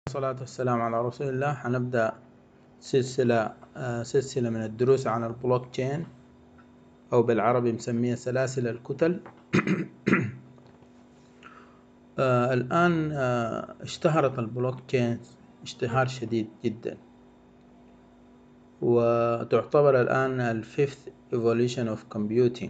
والصلاة والسلام على رسول الله. هنبدأ سلسلة من الدروس عن البلوك تشين، أو بالعربي مسميها سلاسل الكتل. الآن اشتهرت البلوك تشين اشتهار شديد جدا، وتعتبر الآن الفيفث evolution of computing.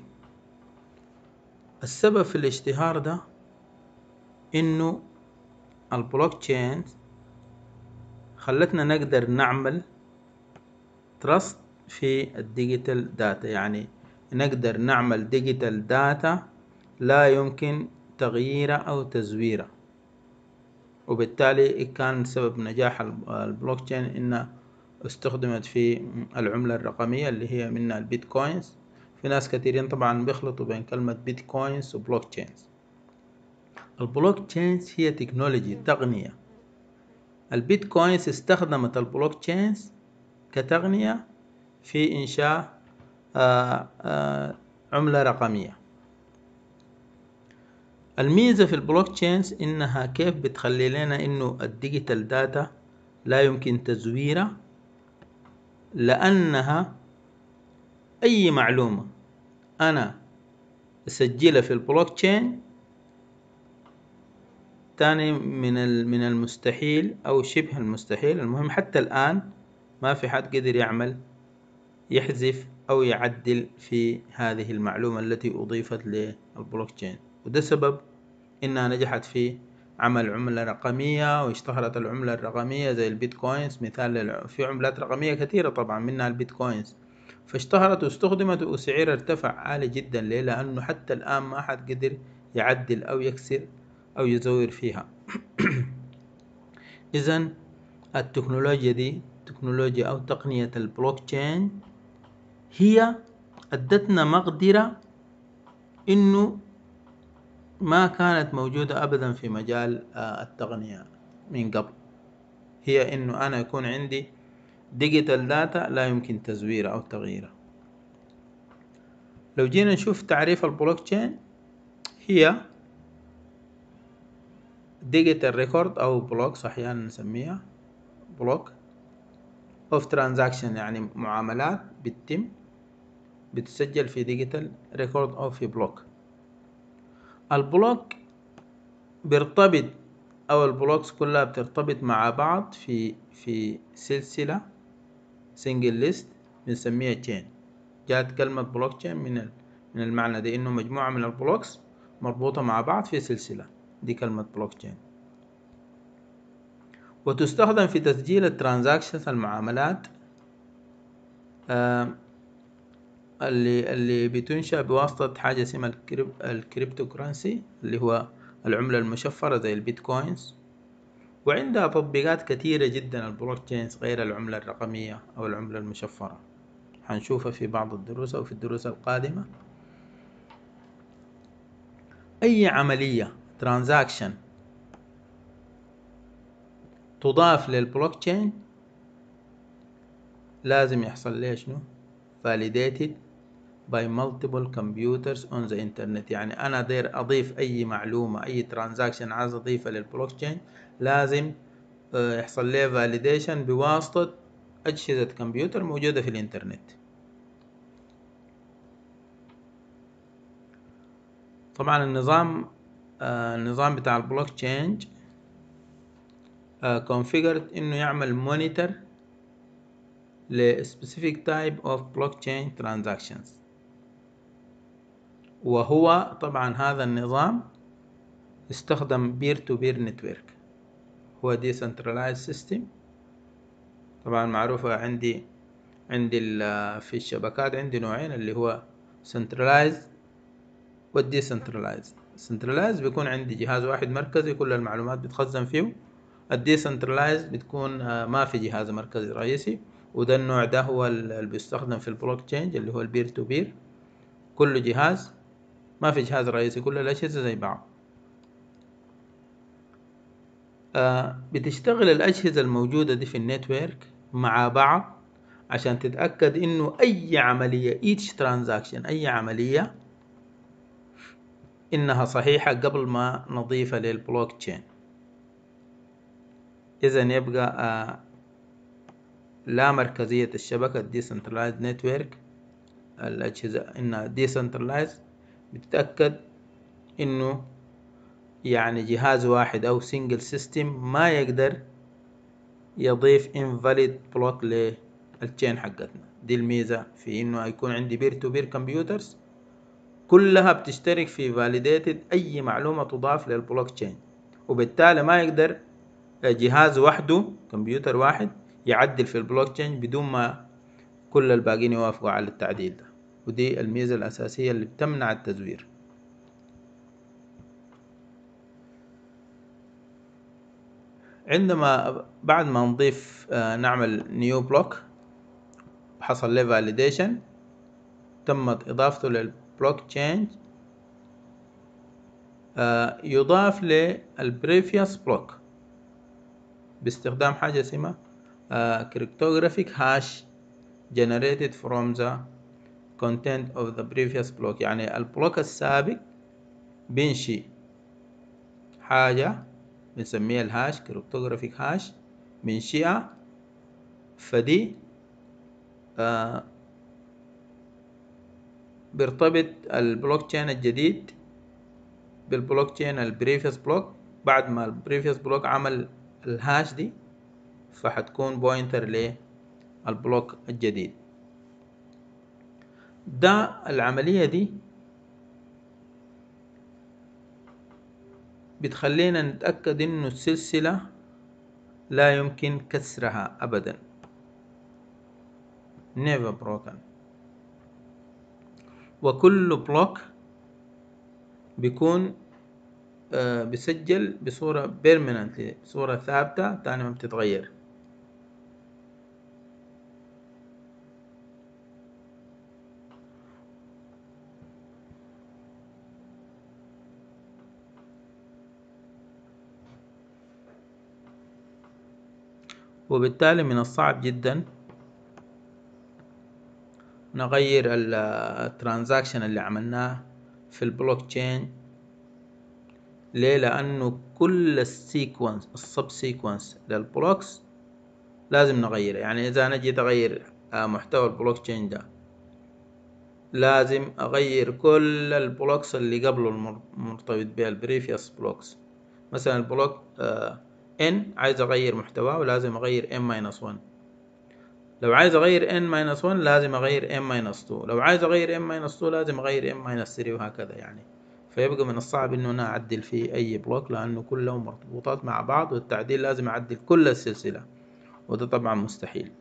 السبب في الاشتهار ده إنه البلوك تشين خلتنا نقدر نعمل تراست في الديجيتال داتا، يعني نقدر نعمل ديجيتال داتا لا يمكن تغييره أو تزويره. وبالتالي كان سبب نجاح البلوك تشين إنها استخدمت في العملة الرقمية اللي هي منها البيتكوينز. في ناس كثيرين طبعا بيخلطوا بين كلمة بيتكوينز وبلوك تشينز. البلوك تشينز هي تكنولوجي تقنية. البيتكوينز استخدمت البلوك تشينز كتقنية في إنشاء عملة رقمية. الميزة في البلوك تشينز إنها كيف بتخلي لنا إنه الديجيتال داتا لا يمكن تزويرها، لأنها أي معلومة أنا أسجلها في البلوك تشين تاني من المستحيل أو شبه المستحيل، المهم حتى الآن ما في حد قدر يحذف أو يعدل في هذه المعلومة التي أضيفت للبلوك تشين. وده سبب إنها نجحت في عمل عملة رقمية، واشتهرت العملة الرقمية زي البيتكوينز. مثال في عملات رقمية كثيرة طبعا منها البيتكوينز، فاشتهرت واستخدمت وسعرها ارتفع عالي جدا. ليه؟ لأنه حتى الآن ما حد قدر يعدل أو يكسر أو يزور فيها. إذن التكنولوجيا دي تكنولوجيا أو تقنية البلوك تشين هي أدتنا مقدرة إنه ما كانت موجودة أبدا في مجال التقنية من قبل. هي إنه أنا يكون عندي ديجيتال داتا لا يمكن تزويرها أو تغييرها. لو جينا نشوف تعريف البلوك تشين، هي ديجيتال ريكورد أو بلوكس أحيانا نسميها بلوك of transaction، يعني معاملات بتسجل في ديجيتال ريكورد أو في بلوك. البلوك بيرتبط أو البلوكس كلها بترتبط مع بعض في سلسلة سنجل ليست بنسميها تشين. جاءت كلمة بلوك تشين من المعنى ده، إنه مجموعة من البلوكس مربوطة مع بعض في سلسلة، دي كلمة بلوك تشين. وتستخدم في تسجيل الترانزاكشنز، المعاملات اللي بتنشأ بواسطة حاجة اسمها الكريبتو كرنسي، اللي هو العملة المشفرة زي البيتكوينز. وعندها تطبيقات كثيرة جدا البلوك تشينز غير العملة الرقمية أو العملة المشفرة، هنشوفها في بعض الدروس أو في الدروس القادمة. أي عملية ترانزاكشن تضاف للبلوك تشين لازم يحصل لها شنو؟ validated by multiple computers on the internet. يعني أنا داير أضيف أي معلومة، أي ترانزاكشن عايز أضيفها للبلوك تشين، لازم يحصل لها validation بواسطة أجهزة كمبيوتر موجودة في الإنترنت. طبعا النظام بتاع البلوك تشين configured إنه يعمل monitor ل specific type of blockchain transactions. وهو طبعا هذا النظام استخدم peer to peer network، هو decentralized system. طبعا معروفة عندي في الشبكات عندي نوعين، اللي هو centralized و decentralized. centralized بيكون عندي جهاز واحد مركزي كل المعلومات بتخزن فيه. الديسنترلايزد بتكون ما في جهاز مركزي رئيسي، وده النوع ده هو اللي بيستخدم في البلوك تشين اللي هو البير تو بير. كل جهاز ما في جهاز رئيسي، كل الأجهزة زي بعض. بتشتغل الأجهزة الموجودة دي في النتورك مع بعض عشان تتأكد إنه أي عملية each transaction، أي عملية إنها صحيحة قبل ما نضيفها للبلوك تشين. إذن يبقى لا مركزية الشبكة Decentralized Network، الأجهزة إنها Decentralized، بتتأكد إنه يعني جهاز واحد أو Single System ما يقدر يضيف Invalid Block للتشين حقتنا. دي الميزة في إنه يكون عندي Peer to Peer Computers كلها بتشترك في Validated أي معلومة تضاف للبلوك تشين، وبالتالي ما يقدر جهاز وحده كمبيوتر واحد يعدل في البلوك تشين بدون ما كل الباقيين يوافقوا على التعديل ده. ودي الميزة الأساسية اللي بتمنع التزوير. عندما بعد ما نضيف نعمل نيو بلوك حصل له فاليديشن، تمت إضافته للبلوك تشين، يضاف للبريفيوس بلوك باستخدام حاجة اسمها cryptographic hash generated from the content of the previous block. يعني البلوك السابق بينشي حاجة بنسميها الهاش cryptographic hash بنشيها، فدي بيرتبط البلوك تشين الجديد بالبلوك تشين البريفيوس بلوك. بعد ما البريفيوس بلوك عمل الهاش دي فحتكون بوينتر للبلوك الجديد ده. العملية دي بتخلينا نتأكد إنه السلسلة لا يمكن كسرها أبدا، never broken. وكل بلوك بيكون بيسجل بصورة permanently، بصورة ثابتة تاني ما بتتغير. وبالتالي من الصعب جدا نغير الترانزاكشن اللي عملناه في البلوك تشين. ليه؟ لأنه كل السيكونس السب سيكونس للبلوكس لازم نغيره. يعني إذا أنا جيت أغير محتوى البلوك تشين ده لازم أغير كل البلوكس اللي قبله المرتبط بها البريفيوس بلوكس. مثلا البلوك N عايز أغير محتواه ولازم أغير N-1. لو عايز أغير N-1 لازم أغير N-2. لو عايز أغير N-2 لازم أغير N-3 وهكذا. يعني فيبقى من الصعب إنه أنا أعدل في أي بلوك لأنه كلهم مرتبطات مع بعض، والتعديل لازم أعدل كل السلسلة، وده طبعا مستحيل.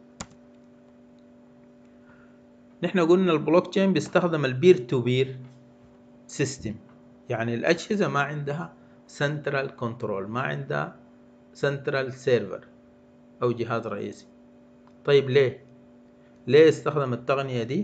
نحن قلنا البلوك تشين بيستخدم البير تو بير سيستم، يعني الأجهزة ما عندها سنترال كنترول، ما عندها سنترال سيرفر أو جهاز رئيسي. طيب ليه استخدم التقنية دي؟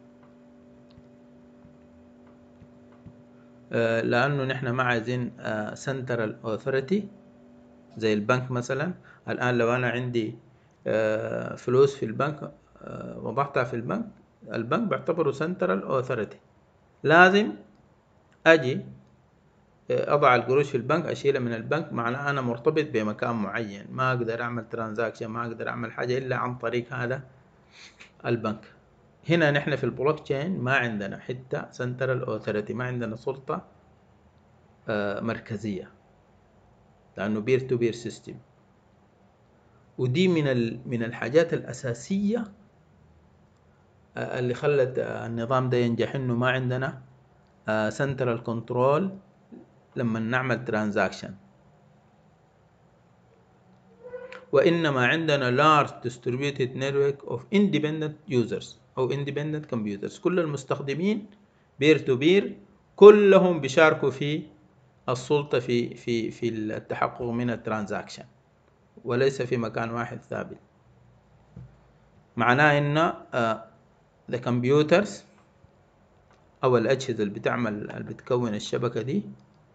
لأنه نحن ما عايزين سنترال أوثوريتي زي البنك مثلا. الآن لو أنا عندي فلوس في البنك وضعتها في البنك بعتبره سنترال أوثوريتي. لازم أجي أضع القروش في البنك أشيلها من البنك، معناه أنا مرتبط بمكان معين، ما أقدر أعمل ترانزاكشن، ما أقدر أعمل حاجة إلا عن طريق هذا البنك. هنا نحن في البلوك تشين ما عندنا حتى سنترال أوثوريتي، ما عندنا سلطة مركزية لأنه بير تو بير سيستم. ودي من الحاجات الأساسية اللي خلت النظام ده ينجح، إنه ما عندنا سنترال كنترول لما نعمل ترانزاكشن، وإنما عندنا large distributed network of independent users أو independent computers. كل المستخدمين بير تو بير كلهم بيشاركوا في السلطة في التحقق من الترانزاكشن، وليس في مكان واحد ثابت. معناه إن the computers أو الأجهزة اللي بتكون الشبكة دي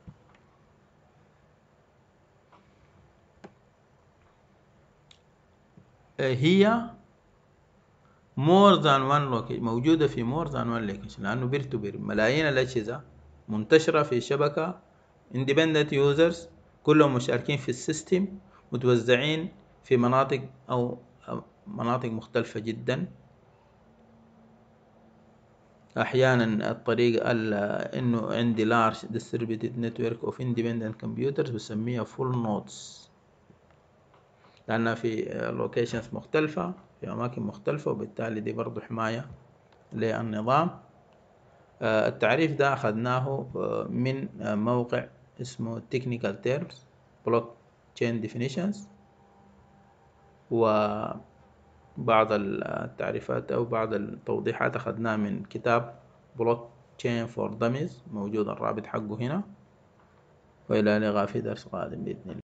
هي more than one location، موجودة في more than one location، لأنه بير تو بير ملايين الأجهزة منتشرة في شبكة independent users كلهم مشاركين في السيستم، متوزعين في مناطق أو مناطق مختلفة جدا. أحيانا الطريقة إنه عندي large distributed network of independent computers بسميها full nodes، لأنها في locations مختلفة في أماكن مختلفة، وبالتالي دي برضو حماية للنظام. التعريف ده أخذناه من موقع اسمه Technical Terms Blockchain Definitions، وبعض التعريفات أو بعض التوضيحات أخذناها من كتاب Blockchain for Dummies، موجود الرابط حقه هنا. وإلى اللقاء في درس قادم بإذن الله.